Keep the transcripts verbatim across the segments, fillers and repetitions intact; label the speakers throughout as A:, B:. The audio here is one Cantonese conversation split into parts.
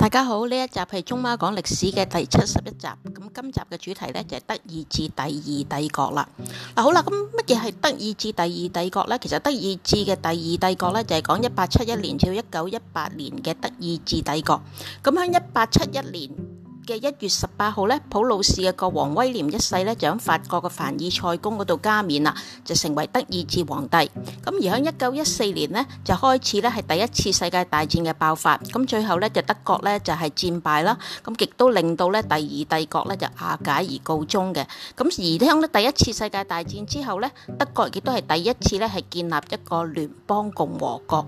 A: 大家好，呢一集係中媽講歷史嘅第七十一集。咁今集嘅主題呢，就係德意志第二帝國啦。嗱，好啦，咁乜嘢係德意志第二帝國呢？其實德意志嘅第二帝國呢，就係講一八七一年至一九一八年嘅德意志帝國。咁喺一八七一年嘅一月十八號咧，普魯士嘅國王威廉一世咧就喺法國嘅凡爾賽宮嗰度加冕啦，就成為德意志皇帝。咁而喺一九一四年呢，就開始咧係第一次世界大戰嘅爆發。咁最後咧就德國咧就係戰敗啦，咁亦都令到咧第二帝國咧就瓦解而告終嘅。咁而喺咧第一次世界大戰之後咧，德國亦都係第一次咧係建立一個聯邦共和國。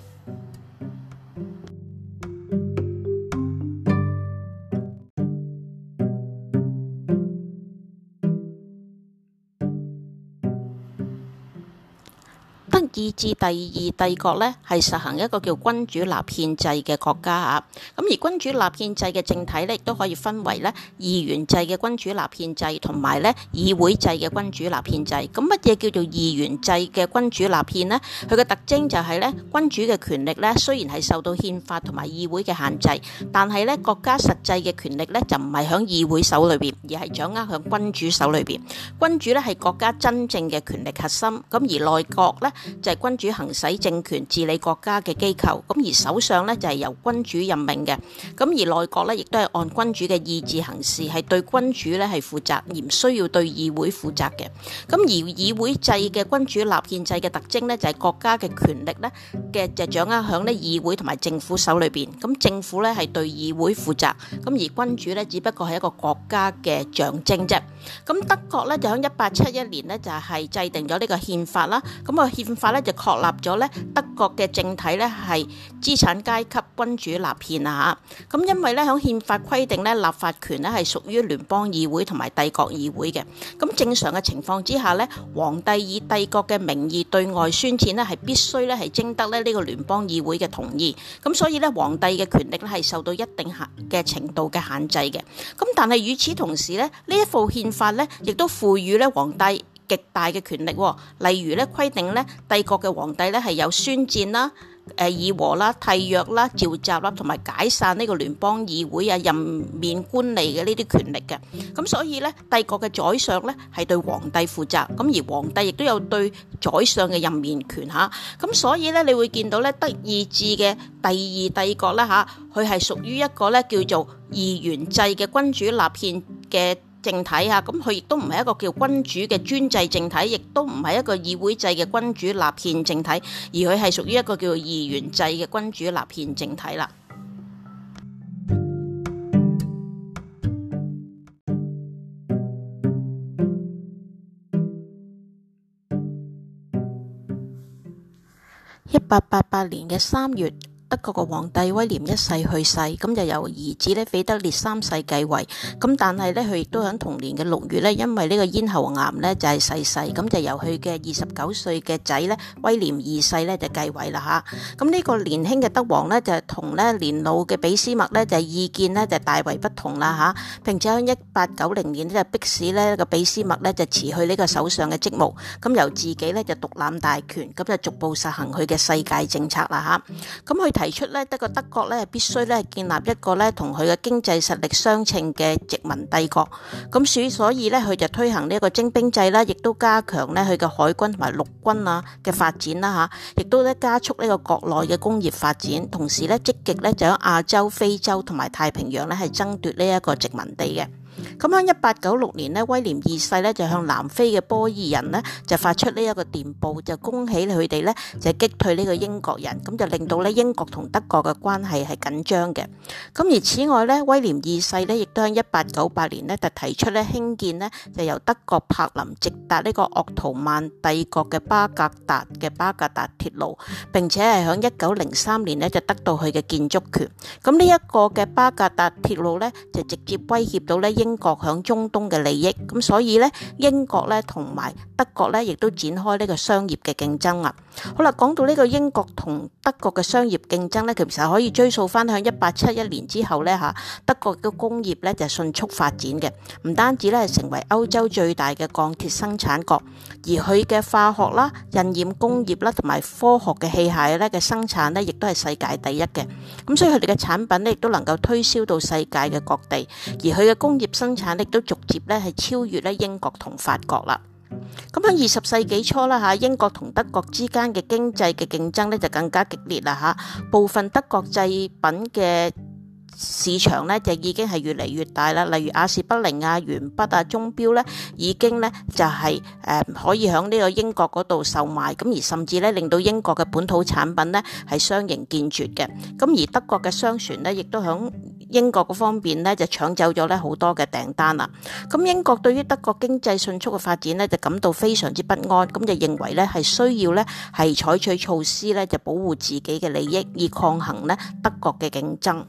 A: 德意志第二帝國咧係實行一個叫君主立憲制嘅國家啊，咁而君主立憲制嘅政體咧亦都可以分為咧議員制嘅君主立憲制同埋咧議會制嘅君主立憲制。咁乜嘢叫做議員制嘅君主立憲呢？佢嘅特徵就係咧君主嘅權力咧雖然係受到憲法同埋議會嘅限制，但係咧國家實際嘅權力咧就唔係響議會手裏邊，而係掌握響君主手裏邊。君主咧係國家真正嘅權力核心，咁而內閣咧就係君主行使政權治理國家嘅機構，咁而首相呢，就係由君主任命嘅，咁而內閣呢，亦都係按君主嘅意志行事，係對君主呢係負責，而唔需要對議會負責嘅。咁而議會制嘅君主立憲制嘅特徵呢，就係國家嘅權力呢嘅就掌握響呢議會同埋政府手裏邊，咁政府呢係對議會負責，咁而君主呢，只不過係一個國家嘅象徵啫。咁德國呢，就喺一八七一年呢，就係制定咗呢個憲法啦，咁個憲法咧就確立咗咧德國嘅政體咧係資產階級君主立憲啊嚇，咁因為咧響憲法規定咧立法權咧係屬於聯邦議會同埋帝國議會嘅，咁正常嘅情況之下咧，皇帝以帝國嘅名義對外宣戰咧係必須咧係徵得咧呢個聯邦議會嘅同意，咁所以咧皇帝嘅權力咧係受到一定限嘅程度嘅限制嘅，咁但係與此同時咧呢一部憲法咧亦都賦予咧皇帝極大嘅權力，例如咧規定咧帝國嘅皇帝咧係有宣戰啦、誒議和啦、締約啦、召集啦，同埋解散呢個聯邦議會啊、任免官吏嘅呢啲權力嘅。咁所以咧帝國嘅宰相咧係對皇帝負責，咁而皇帝亦都有對宰相嘅任免權嚇。咁所以咧你會見到咧德意志嘅第二帝國啦嚇，佢係屬於一個咧叫做議員制嘅君主立憲嘅政體啊，咁佢亦都唔係一個叫君主嘅專制政體，亦都唔係一個議會制嘅君主立憲政體，而佢係屬於一個叫做議員制嘅君主立憲政體啦。一八八八年嘅三月，德國嘅皇帝威廉一世去世，咁就由兒子咧腓特烈三世繼位。咁但係咧佢亦都喺同年嘅六月咧，因為呢個咽喉癌咧就係逝世，咁就由佢嘅二十九歲嘅仔咧威廉二世咧就繼位啦嚇。咁呢個年輕嘅德王咧就同咧年老嘅俾斯麥咧就意見咧就大為不同啦嚇，並且喺一八九零年咧就迫使咧個俾斯麥咧就辭去呢個首相嘅職務，咁由自己咧就獨攬大權，咁就逐步實行佢嘅世界政策啦嚇。咁佢提出咧，德國德國咧必須咧建立一個咧同佢嘅經濟實力相稱嘅殖民帝國。咁所所以咧，佢就推行呢一個徵兵制啦，亦都加強咧佢嘅海軍同埋陸軍啊嘅發展啦嚇，亦都咧加速呢個國內嘅工業發展，同時咧積極咧就喺亞洲、非洲同埋太平洋咧係爭奪呢一個殖民地嘅。咁喺一八九六年呢，威廉二世咧就向南非嘅波爾人呢就發出呢一個電報，就恭喜佢哋咧就擊退呢個英國人，咁就令到咧英國同德國嘅關係係緊張嘅。咁而此外咧，威廉二世咧亦都喺一八九八年呢就提出咧興建呢就由德國柏林直達呢個鄂圖曼帝國嘅巴格達嘅巴格達鐵路，並且係喺一九零三年呢就得到佢嘅建築權。咁呢一個嘅巴格達鐵路咧就直接威脅到咧英英國響中東嘅利益，咁所以咧英國咧同埋德國咧亦都展開呢個商業嘅競爭啊。好啦，講到呢個英國同德國嘅商業競爭咧，其實可以追溯翻向一八七一年之後咧嚇，德國嘅工業咧就迅速發展嘅，唔單止咧係成為歐洲最大嘅鋼鐵生產國，而佢嘅化學啦、印染工業啦同埋科學嘅器械咧嘅生產咧，亦都係世界第一嘅。咁所以佢哋嘅產品咧亦都能夠推銷到世界嘅各地，而佢嘅工業生產力都逐漸咧係超越咧英國同法國啦。咁喺二十世紀初啦嚇，英國同德國之間嘅經濟嘅競爭咧就更加激烈啦嚇，部分德國製品嘅市場咧就已經係越嚟越大啦，例如亞士不靈啊、鉛筆啊、鐘錶咧已經咧就係、是、誒、呃、可以喺呢個英國嗰度售賣，咁而甚至咧令到英國嘅本土產品咧係相形見絀嘅。咁而德國嘅商船咧亦都喺英國嗰方面咧就搶走咗咧好多嘅訂單啦。咁英國對於德國經濟迅速嘅發展咧就感到非常之不安，咁就認為咧係需要咧係採取措施咧就保護自己嘅利益，以抗衡咧德國嘅競爭。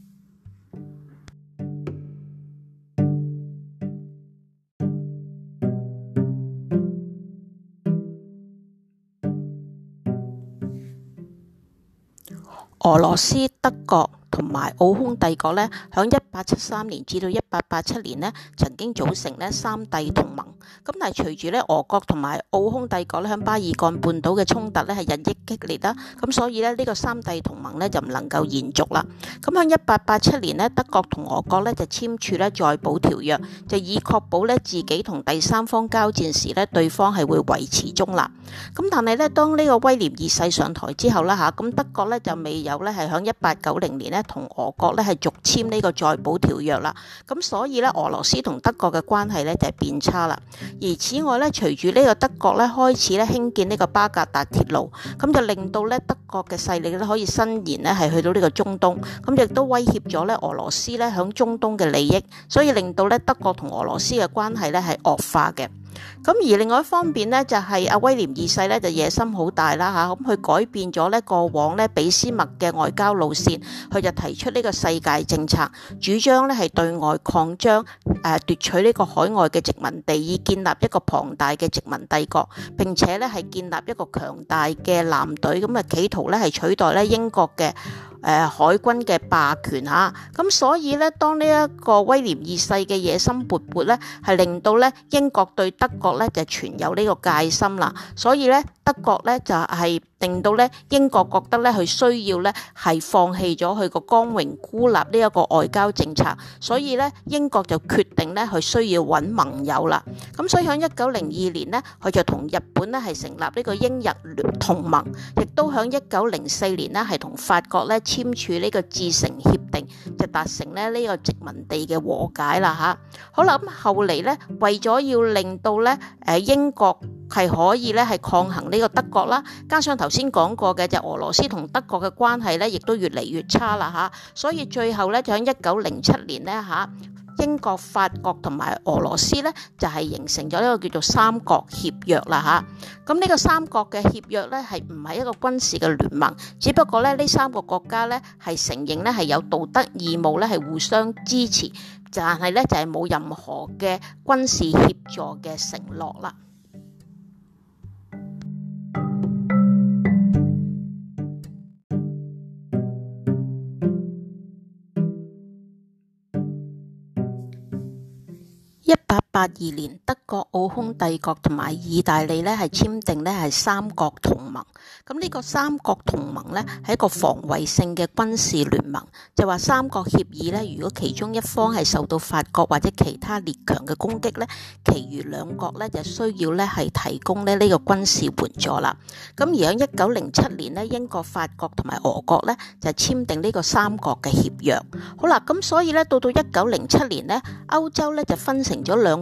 A: 俄羅斯、德國同埋奧匈帝國咧，響一八七三年至到一八八七年咧，曾經組成咧三帝同盟。咁但係隨住咧俄國同埋奧匈帝國咧響巴爾幹半島嘅衝突咧係日益激烈啦，咁所以咧呢個三帝同盟咧就唔能夠延續啦。咁響一八八七年咧，德國同俄國咧就簽署咧再保條約，就以確保咧自己同第三方交戰時咧對方係會維持中立。咁但係咧當呢個威廉二世上台之後啦嚇，咁德國咧就未有咧係響一八九零年咧同俄國咧係續簽呢個再保條約啦。咁所以咧俄羅斯同德國嘅關係咧就係變差啦。而此外咧，隨住呢個德國咧開始咧興建呢個巴格達鐵路，咁就令到咧德國嘅勢力咧可以伸延咧係去到呢個中東，咁亦都威脅咗咧俄羅斯咧響中東嘅利益，所以令到咧德國同俄羅斯嘅關係咧係惡化嘅。咁而另外一方面呢，就係阿威廉二世咧就野心好大啦嚇，咁佢改變咗咧過往咧俾斯麥嘅外交路線，佢就提出呢個世界政策，主張咧係對外擴張，誒奪取呢個海外嘅殖民地，以建立一個龐大嘅殖民帝國，並且咧係建立一個強大嘅艦隊，咁啊企圖咧係取代咧英國嘅誒、呃、海軍嘅霸權嚇，咁所以咧，當呢一個威廉二世嘅野心勃勃咧，係令到咧英國對德國咧就存有呢個戒心啦，所以咧德國咧就係、是。令到咧英國覺得咧佢需要咧係放棄咗佢個光榮孤立呢一個外交政策，所以咧英國就決定咧佢需要揾盟友啦。咁所以喺一九零二年呢，佢就同日本咧係成立呢個英日同盟，亦都喺一九零四年呢係同法國咧簽署呢個致誠協定，就達成咧呢個殖民地嘅和解啦嚇。好啦，咁後嚟咧為咗要令到咧誒英國係可以咧係抗衡呢個德國啦，加上頭先講過嘅就俄羅斯同德國嘅關係咧，亦都越嚟越差啦嚇，所以最後咧就喺一九零七年咧嚇，英國、法國同埋俄羅斯咧就係形成咗呢個叫做三國協約啦嚇。咁呢個三國嘅協約咧係唔係一個軍事嘅聯盟，只不過咧呢三個國家咧係承認咧係有道德義務咧係互相支持，但係咧就係冇任何嘅軍事協助嘅承諾啦。一八八二年，德國、奧匈帝國同埋意大利咧係簽訂咧係三國同盟。咁呢個三國同盟咧係一個防衛性嘅軍事聯盟，就話三國協議咧，如果其中一方係受到法國或者其他列強嘅攻擊咧，其餘兩國咧就需要咧係提供咧呢個軍事援助啦。咁而喺一九零七年咧，英國、法國同埋俄國咧就簽訂呢個三國嘅協約。好啦，咁所以咧到到一九零七年咧，歐洲咧就分成咗兩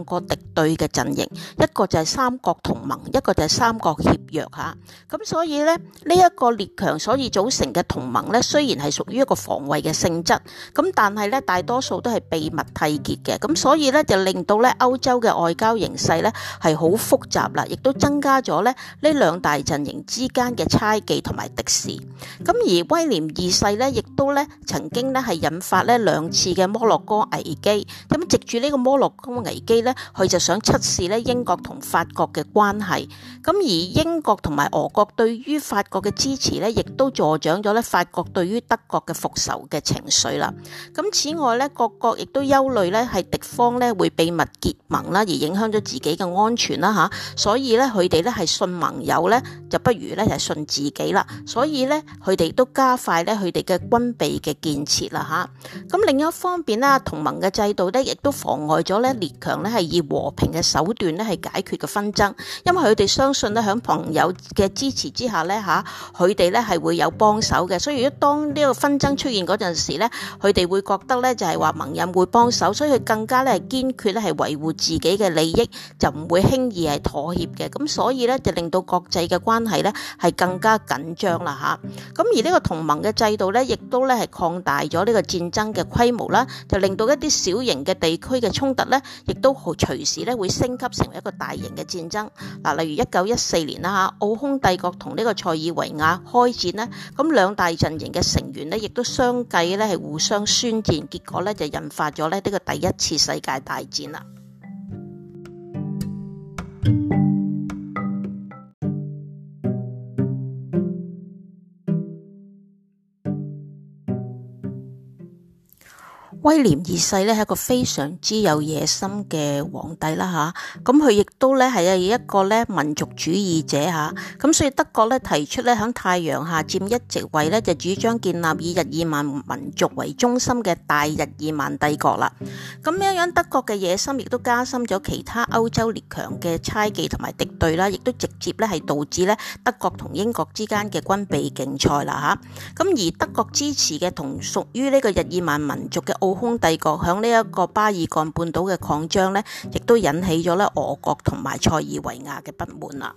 A: 個敵對嘅陣營，一個就係三國同盟，一個就係三國協約嚇。咁所以咧，呢一個列強所以組成嘅同盟咧，雖然係屬於一個防衛嘅性質，咁但係咧大多數都係秘密締結嘅，咁所以咧就令到咧歐洲嘅外交形勢咧係好複雜啦，亦都增加咗咧呢兩大陣營之間嘅猜忌同埋敵視。咁而威廉二世咧，亦都咧曾經咧係引發咧兩次嘅摩洛哥危機。咁藉住呢個摩洛哥危機咧，佢就想測試咧英國同法國嘅關係。咁而英國同埋俄國對於法國嘅支持咧，亦都助長咗咧法國對於德國嘅復仇嘅情緒啦。咁此外咧，各國亦都憂慮咧係敵方咧會秘密結盟啦，而影響咗自己嘅安全啦嚇。所以咧佢哋咧係信盟友咧，就不如咧係信自己啦。所以咧佢哋都加快咧佢哋嘅軍備嘅建設啦嚇。咁另一方面咧，同盟嘅制度咧亦都妨礙咗咧列強咧係以和平嘅手段咧係解決嘅紛爭，因為佢哋相信咧喺朋友嘅支持之下咧嚇，佢哋咧係會有幫手嘅。所以如果當呢個紛爭出現嗰陣時咧，佢哋會覺得咧就係話盟友會幫手，所以佢更加咧係堅決咧係維護自己嘅利益，就唔會輕易係妥協嘅。咁所以咧就令到國際嘅關係咧係更加緊張啦嚇。咁而呢個同盟嘅制度咧，亦都咧係擴大咗呢個戰爭嘅規模啦，就令到一啲小型嘅地區嘅衝突咧，亦都好隨時咧會升級成為一個大型嘅戰爭。嗱，例如一九一四年啦嚇，奧匈帝國同呢個塞爾維亞開戰咧，咁兩大陣營嘅成員咧，亦都相繼咧係互相宣戰，結果咧就引發咗咧呢個第一次世界大戰啦。威廉二世咧係一個非常之有野心嘅皇帝啦嚇，咁佢亦都咧係一個咧民族主義者嚇，咁所以德國咧提出咧喺太陽下佔一席位咧，就主張建立以日耳曼民族為中心嘅大日耳曼帝國啦。咁樣樣德國嘅野心亦都加深咗其他歐洲列強嘅猜忌同埋敵對啦，亦都直接咧係導致咧德國同英國之間嘅軍備競賽啦嚇。咁而德國支持嘅同屬於呢個日耳曼民族嘅奧匈帝國響呢一個巴爾幹半島嘅擴張咧，亦都引起咗咧俄國同埋塞爾維亞嘅不滿啦。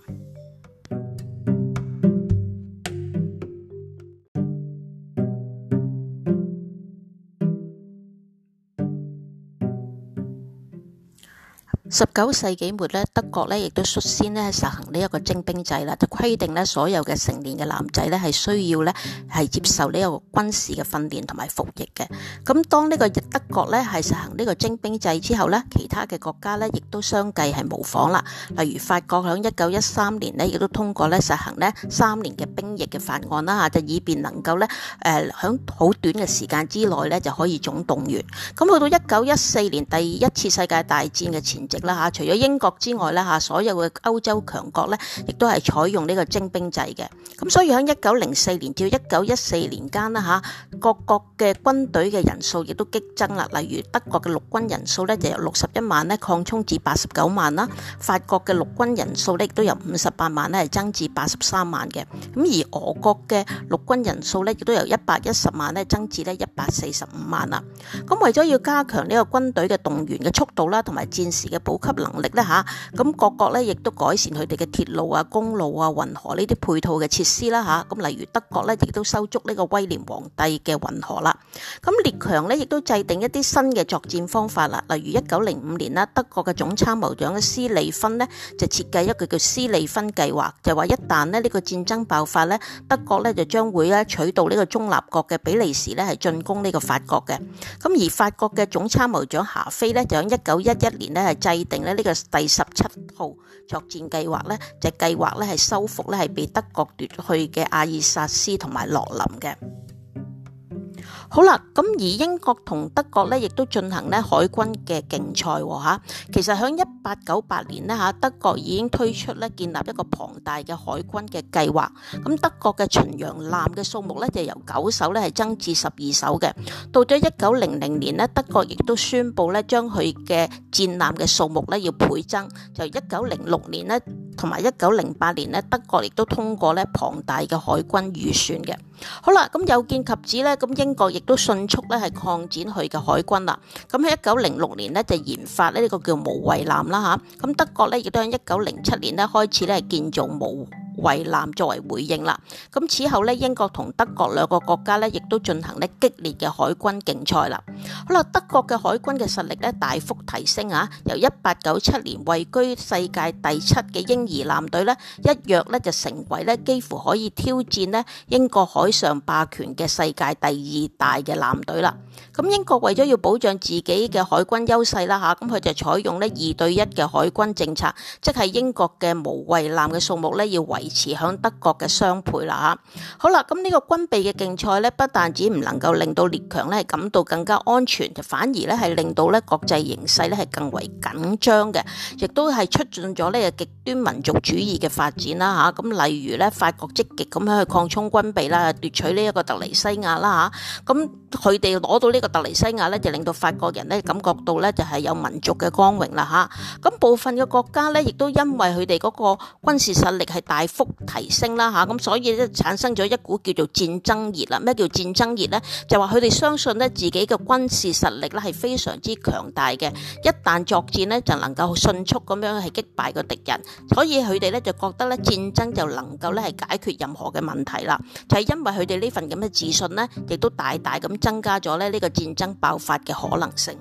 A: 十九世紀末咧，德國咧亦都率先咧實行呢一個徵兵制啦，就規定咧所有嘅成年嘅男仔咧係需要咧係接受呢一個軍事嘅訓練同埋服役嘅。咁當呢個德國咧係實行呢個徵兵制之後咧，其他嘅國家咧亦都相繼係模仿啦。例如法國響一九一三年咧亦都通過咧實行咧三年嘅兵役嘅法案啦嚇，就以便能夠咧誒響好短嘅時間之內咧就可以總動員。咁去到一九一四年第一次世界大戰嘅前夕啦嚇，除咗英國之外咧嚇，所有嘅歐洲強國咧，亦都係採用呢個徵兵制嘅。咁所以喺一九零四年至一九一四年間啦嚇，各國嘅軍隊嘅人數亦都激增啦。例如德國嘅陸軍人數咧就由六十一萬咧擴充至八十九萬啦，法國嘅陸軍人數咧亦都由五十八萬咧係增至八十三萬嘅。咁而俄國嘅陸軍人數咧亦都由一百一十萬咧增至咧一百四十五萬啦。咁為咗要加強呢個軍隊嘅動員嘅速度啦，同埋戰時嘅補給能力咧嚇，咁各國咧亦都改善佢哋嘅鐵路啊、公路啊、運河呢啲配套嘅設施啦嚇。咁例如德國咧亦都修築呢個威廉皇帝嘅運河啦。咁列強咧亦都制定一啲新嘅作戰方法啦。例如一九零五年啦，德國嘅總參謀長嘅施利芬呢，就設計一個叫施利芬計劃，就話一旦咧呢個戰爭爆發咧，德國咧就將會咧取道呢個中立國嘅比利時咧係進攻呢個法國嘅。咁而法國嘅總參謀長霞飛咧就喺一九一一年咧係制定咧呢個第十七號作戰計劃咧，就計劃咧係收復咧係被德國奪去嘅阿爾薩斯同埋洛林嘅。好啦，咁而英國同德國咧，亦都進行咧海軍嘅競賽喎嚇。其實喺一八九八年咧嚇，德國已經推出咧建立一個龐大嘅海軍嘅計劃。咁德國嘅巡洋艦嘅數目咧就由九艘咧係增至十二艘嘅。到咗一九零零年咧，德國亦都宣布咧將佢嘅戰艦嘅數目咧要倍增。就一九零六年咧， 同埋一九零八年咧，德國亦都通過咧龐大嘅海軍預算嘅。好啦，咁有見及此咧，咁英國亦都迅速咧係擴展佢嘅海軍啦。咁喺一九零六年咧就研發咧呢個叫無畏艦啦嚇。咁德國咧亦都喺一九零七年咧開始咧係建造無畏艦作為回應啦。咁此後咧，英國同德國兩個國家咧亦都進行咧激烈嘅海軍競賽啦。好啦，德國嘅海軍嘅實力咧大幅提升啊，由一八九七年位居世界第七嘅嬰兒艦隊咧，一躍咧就成為咧幾乎可以挑戰咧英國海上霸權嘅世界第二大嘅艦隊啦。咁英國為咗要保障自己嘅海軍優勢啦嚇，咁佢就採用咧二對一嘅海軍政策，即係英國嘅無畏艦嘅數目咧要維持響德國嘅雙倍啦嚇。好啦，咁呢個軍備嘅競賽咧，不但止唔能夠令到列強咧係感到更加安全，就反而咧係令到咧國際形勢咧係更為緊張嘅，亦都係促進咗呢個極端民族主義嘅發展啦嚇。咁例如咧，法國積極咁樣去擴充軍備啦，奪取呢一個特尼西亞啦嚇。咁佢哋攞到呢個特尼西亞咧，就令到法國人咧感覺到咧就係有民族嘅光榮啦嚇。咁部分嘅國家咧，亦都因為佢哋嗰個軍事實力係大幅提升啦嚇，咁所以咧產生咗一股叫做戰爭熱啦。咩叫戰爭熱咧？就話佢哋相信咧自己嘅軍事實力咧係非常之強大嘅，一旦作戰咧就能夠迅速咁樣係擊敗個敵人，所以佢哋咧就覺得咧戰爭就能夠咧係解決任何嘅問題啦。就係因為佢哋呢份咁嘅自信咧，亦都大大咁增加咗咧呢個戰爭爆發嘅可能性。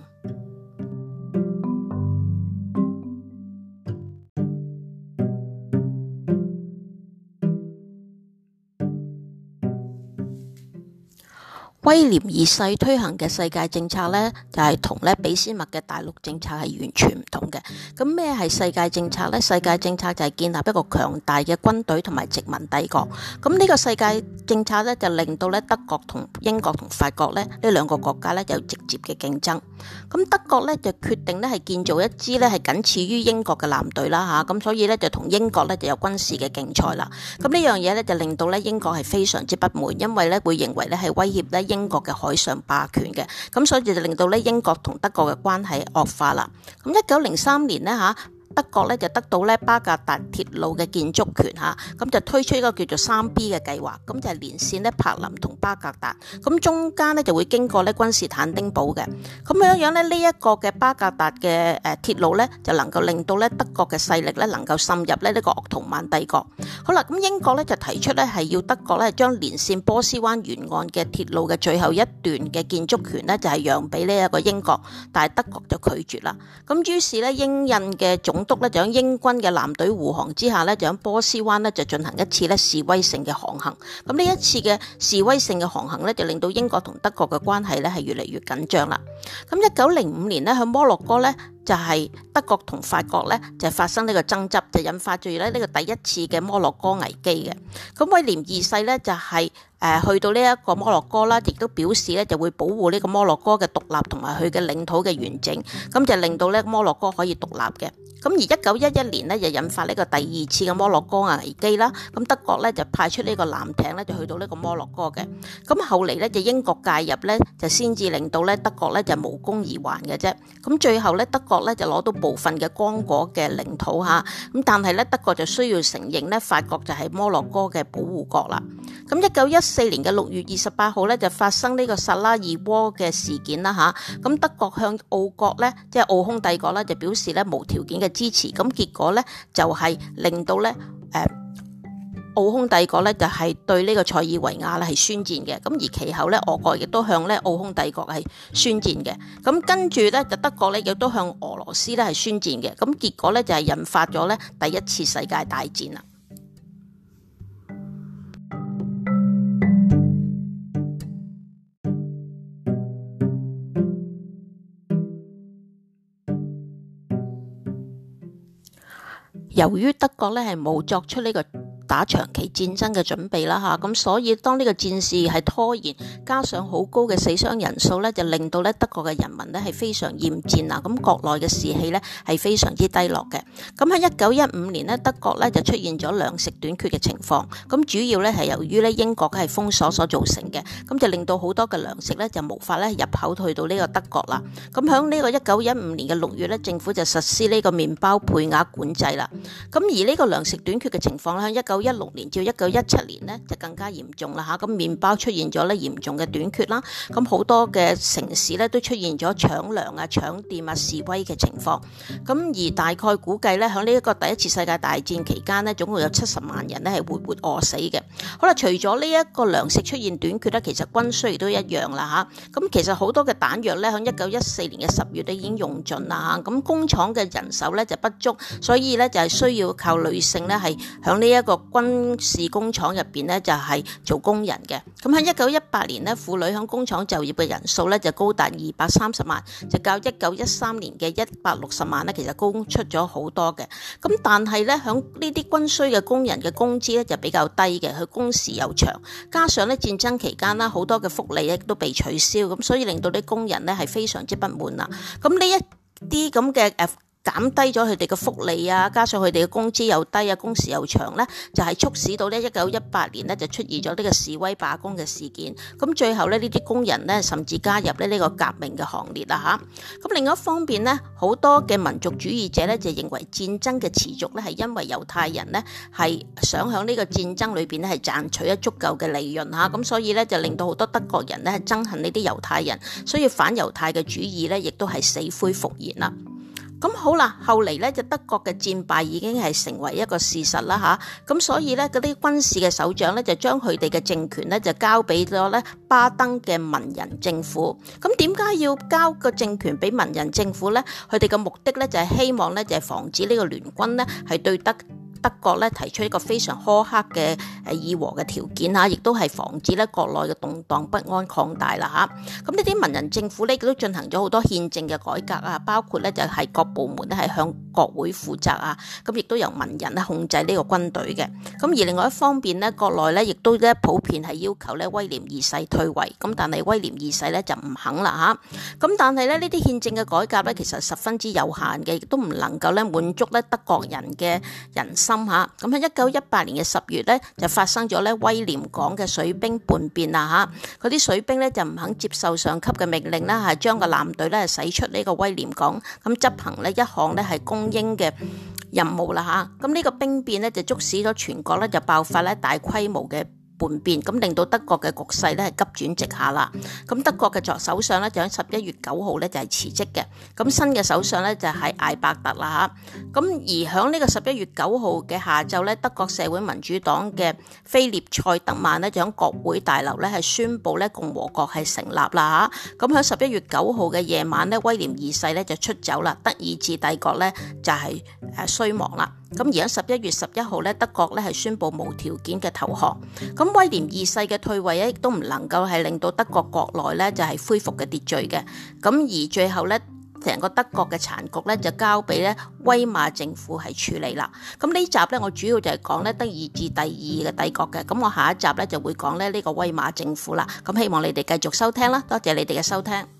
A: 威廉二世推行嘅世界政策咧，就係同咧俾斯麥嘅大陸政策係完全唔同嘅。咁咩係世界政策咧？世界政策就係建立一個強大嘅軍隊同埋殖民帝國。咁呢個世界政策咧，就令到咧德國同英國同法國咧呢兩個國家咧有直接嘅競爭。咁德國咧就決定咧係建造一支咧係僅次於英國嘅艦隊啦嚇。咁所以咧就同英國咧就有軍事嘅競賽啦。咁呢樣嘢咧就令到咧英國係非常之不滿，因為咧會認為咧係威脅咧英國嘅海上霸權嘅，咁所以就令到咧英國同德國嘅關係惡化啦。咁一九零三年呢，嚇，德國咧就得到咧巴格達鐵路嘅建築權嚇，咁就推出一個叫做三 B 嘅計劃，咁就係連線咧柏林同巴格達，咁中間咧就會經過咧君士坦丁堡嘅，咁樣樣咧呢一個嘅巴格達嘅誒鐵路咧就能夠令到咧德國嘅勢力咧能夠滲入咧呢個鄂圖曼帝國。好啦，咁英國咧就提出咧係要德國咧將連線波斯灣沿岸嘅鐵路嘅最後一段嘅建築權咧就係讓俾呢一個英國，但係德國就拒絕啦。咁於是咧英印嘅總督咧就喺英軍嘅艦隊護航之下咧，就喺波斯灣咧就進行一次咧示威性嘅航行。咁呢一次嘅示威性嘅航行咧，就令到英國同德國嘅關係咧係越嚟越緊張啦。咁一九零五年咧，喺摩洛哥咧就係德國同法國咧就發生呢個爭執，就引發住咧呢個第一次嘅摩洛哥危機嘅。咁威廉二世咧就係誒去到呢一個摩洛哥啦，亦都表示咧就會保護呢個摩洛哥嘅獨立同埋佢嘅領土嘅完整，咁就令到咧摩洛哥可以獨立嘅。咁而一九一一年呢，就引發呢個第二次嘅摩洛哥危機啦。咁德國咧就派出呢個艦艇咧，就去到呢個摩洛哥嘅。咁後嚟咧就英國介入咧，就先至令到咧德國咧就無功而還嘅啫。咁最後咧德國咧就攞到部分嘅剛果嘅領土嚇。咁但係咧德國就需要承認咧法國就係摩洛哥嘅保護國啦。咁一九一四年嘅六月二十八號咧就發生呢個薩拉熱窩嘅事件啦嚇。咁德國向奧國咧即係奧匈帝國咧就表示咧無條件嘅支持，咁結果咧就係令到咧誒奧匈帝國咧就係對呢個塞爾維亞咧係宣戰嘅，咁而其後咧俄國亦都向咧奧匈帝國係宣戰嘅，咁跟住咧就德國咧亦都向俄羅斯咧係宣戰嘅，咁結果咧就係引發咗咧第一次世界大戰啦。由於德國咧係冇作出呢個打長期戰爭嘅準備啦嚇，咁所以當呢個戰事係拖延，加上好高嘅死傷人數咧，就令到咧德國嘅人民咧係非常厭戰啊，咁國內嘅士氣咧係非常之低落嘅。咁喺一九一五年咧，德國咧就出現咗糧食短缺嘅情況，咁主要咧係由於咧英國係封鎖所造成嘅，咁就令到好多嘅糧食咧就無法咧入口去到呢個德國啦。咁響呢個一九一五年嘅六月咧，政府就實施呢個麵包配額管制啦。咁而呢個糧食短缺嘅情況咧，喺一九一六年至一九一七年呢，就更加嚴重啦嚇。咁麵包出現咗咧嚴重嘅短缺啦，咁好多嘅城市咧都出現咗搶糧啊、搶店啊、示威嘅情況。咁而大概估計咧，喺呢一個第一次世界大戰期間呢，總共有七十萬人咧係活活餓死嘅。好啦，除咗呢一個糧食出現短缺咧，其實軍需亦都一樣啦嚇。咁其實好多嘅彈藥咧，喺一九一四年嘅十月咧已經用盡啦嚇。咁工廠嘅人手咧就不足，所以咧就係需要靠女性咧係喺呢一個軍事工廠入邊咧就係做工人嘅。咁喺一九一八年咧，婦女喺工廠就業嘅人數咧就高達二百三十萬，就較一九一三年嘅一百六十萬咧，其實高出咗好多嘅。咁但係咧，喺呢啲軍需嘅工人嘅工資咧就比較低嘅，佢工時又長，加上咧戰爭期間啦，好多嘅福利咧都被取消，咁所以令到啲工人咧係非常之不滿啦。咁呢一啲咁嘅誒減低咗佢哋嘅福利啊，加上佢哋嘅工資又低啊，工時又長咧，就係促使到咧一九一八年咧就出現咗呢個示威罷工嘅事件。咁最後咧呢啲工人咧甚至加入咧呢個革命嘅行列啦嚇。咁另一方面咧，好多嘅民族主義者咧就認為戰爭嘅持續咧係因為猶太人咧係想喺呢個戰爭裏邊咧係賺取咗足夠嘅利潤嚇。咁所以咧就令到好多德國人咧係憎恨呢啲猶太人，所以反猶太嘅主義咧亦都係死灰復燃啦。咁好啦，後嚟咧就德國嘅戰敗已經係成為一個事實啦吓，咁所以咧嗰啲軍事嘅首長咧就將佢哋嘅政權咧就交俾咗咧巴登嘅文人政府。咁點解要交個政權俾文人政府咧？佢哋嘅目的咧就係希望咧就係防止呢個聯軍咧係對德德國咧提出一個非常苛刻嘅誒議和嘅條件嚇，亦都係防止咧國內嘅動盪不安擴大啦嚇。咁呢啲文人政府咧亦都進行咗好多憲政嘅改革啊，包括咧就係各部門咧係向國會負責啊，咁亦都由文人咧控制呢個軍隊嘅。咁而另外一方面咧，國內咧亦都咧普遍係要求咧威廉二世退位，咁但係威廉二世咧就唔肯啦嚇。咁但係咧呢啲憲政嘅改革咧其實十分之有限嘅，亦都唔能夠咧滿足咧德國人嘅人心。咁喺一九一八年嘅十月咧，就發生咗咧威廉港嘅水兵叛變啦嚇，嗰啲水兵咧就唔肯接受上級嘅命令啦，係將個艦隊咧駛出呢個威廉港，咁執行呢一項咧係公英嘅任務啦嚇。咁呢個兵變咧就促使咗全國咧就爆發咧大規模嘅叛變，咁令到德國嘅局勢咧係急轉直下啦。咁德國嘅作首相咧就喺十一月九號咧就係辭職嘅，咁新嘅首相咧就係艾伯特啦嚇。咁而喺呢個十一月九號嘅下晝咧，德國社會民主黨嘅菲列塞德曼咧就喺國會大樓咧係宣布咧共和國係成立啦嚇。咁喺十一月九號嘅夜晚咧，威廉二世咧就出走啦，德意志帝國咧就係誒衰亡啦。咁而喺十一月十一號咧，德國咧係宣布無條件嘅投降。咁威廉二世嘅退位咧，亦都唔能夠係令到德國國內咧就係恢復嘅秩序嘅。咁而最後咧，成個德國嘅殘局咧就交俾咧威瑪政府係處理啦。咁呢集咧我主要就係講咧德意志第二嘅帝國嘅。咁我下一集咧就會講咧呢個威瑪政府啦。咁希望你哋繼續收聽啦，多謝你哋嘅收聽。